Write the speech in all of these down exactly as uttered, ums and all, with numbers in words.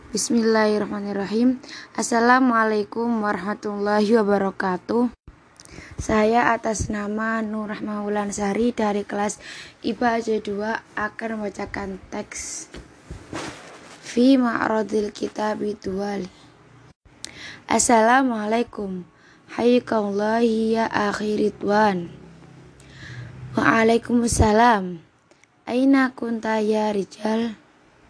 Bismillahirrahmanirrahim. Assalamualaikum warahmatullahi wabarakatuh. Saya atas nama Nur Rahma Wulansari dari kelas I P A A J dua akan membacakan teks Fi Ma'radil Kitabi Duwali. Assalamualaikum. Hayyakallahi ya akhi Ridwan. Waalaikumsalam. Aina kunta ya rijal?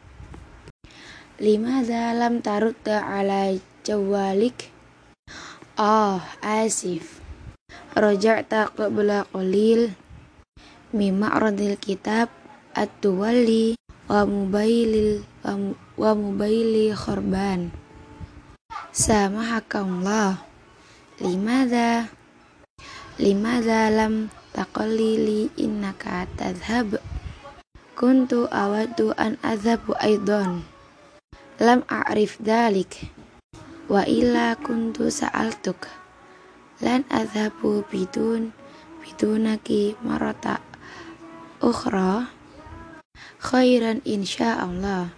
Limadha lam tarudda ala jawalik? Oh, asif. Raja'ta qabla qalil mi ma'radil kitab at-tuwalli wa mubailil wa mubaili khurban. Samahakallah. Limadha limadha lam taqallili innaka tadhhab? Kuntu awaddu an adhabu aidan. Lam a'rif dalik wa illa kuntu sa'altuk lan adhabu bidun bidunaki marata ukhra khairan insyaallah.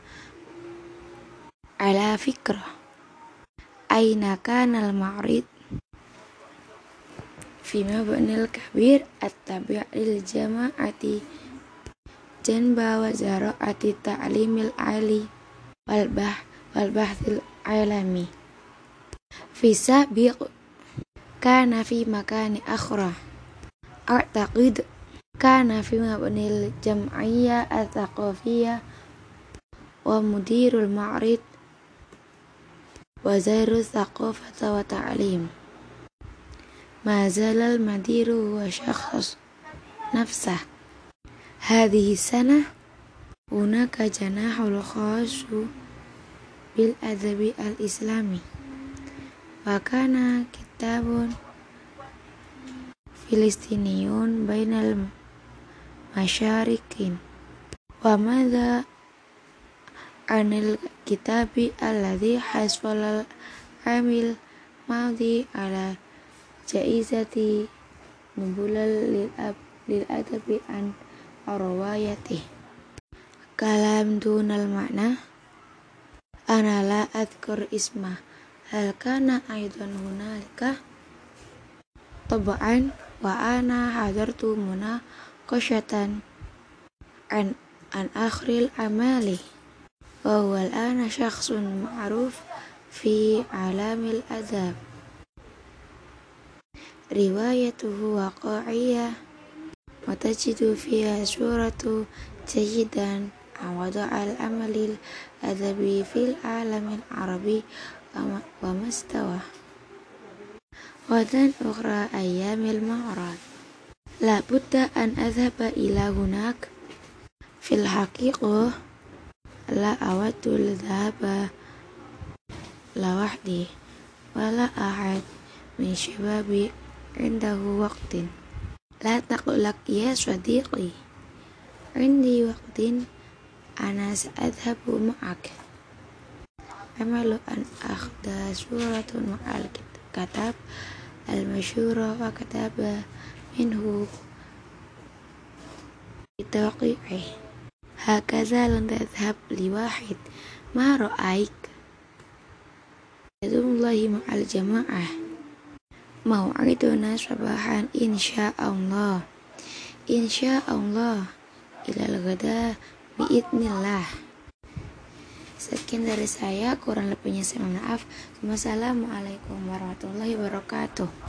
Ala fikrah aina kanal ma'rid fi mabnil kabir at-tabi'il jama'ati janba wa zara'ati ta'limil ali Walbah walbahthil alami fi sabiq kana fi makani akhra a'taqid kana fi mabnil jam'iyya at-thaqafiyya wa mudirul ma'rid wa zairu thaqafata wa ta'lim. Ma zalal madiru wa syakhs nafsah hadhihi sanah hunaka janahul khasu bil adabi al islami wa kana kitabun filistiniyun bainal masyarikin wa madha anil kitabi alladhi hasfalal amil madhi ala jaizati nubulal lil ab lil adabi an arwayatih kalam dunal makna. Ana la adhkur isma hal kana aidan hunalika tab'an wa ana hadartu munaqashatan an an akhril amali wa huwa al-ana syakhsun ma'ruf fi alamil adab riwayatuhu waqa'iyah wa tajidu fiha suratu jayidan awadu al-amalil adabi fil alamil arabi wa mastawa wadan ukhra ayyamil ma'rad la budda an adhaba ila hunak fil haqiqah la awadul dhaba la wahdi wala ahad min syababi indahu waqtin la taqulak ya sadiqi indi waqtin ana sa'adhabu ma'ak amalu an akhda suratun ma'al katab al-masyura wa kataba minhu itaqi'ih hakaza lan tadhhab li wahid ma ra'aik yadullahi ma'al jama'ah mau'iduna sabahan insyaallah insyaallah ilal ghada biidnillah. Sekian dari saya, kurang lebihnya saya mohon maaf. Wassalamualaikum warahmatullahi wabarakatuh.